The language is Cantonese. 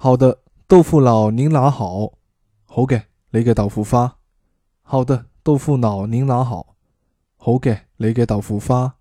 好的，豆腐脑您拿好。好嘅，你嘅豆腐花。好的，豆腐脑您拿好。好嘅，你嘅豆腐花。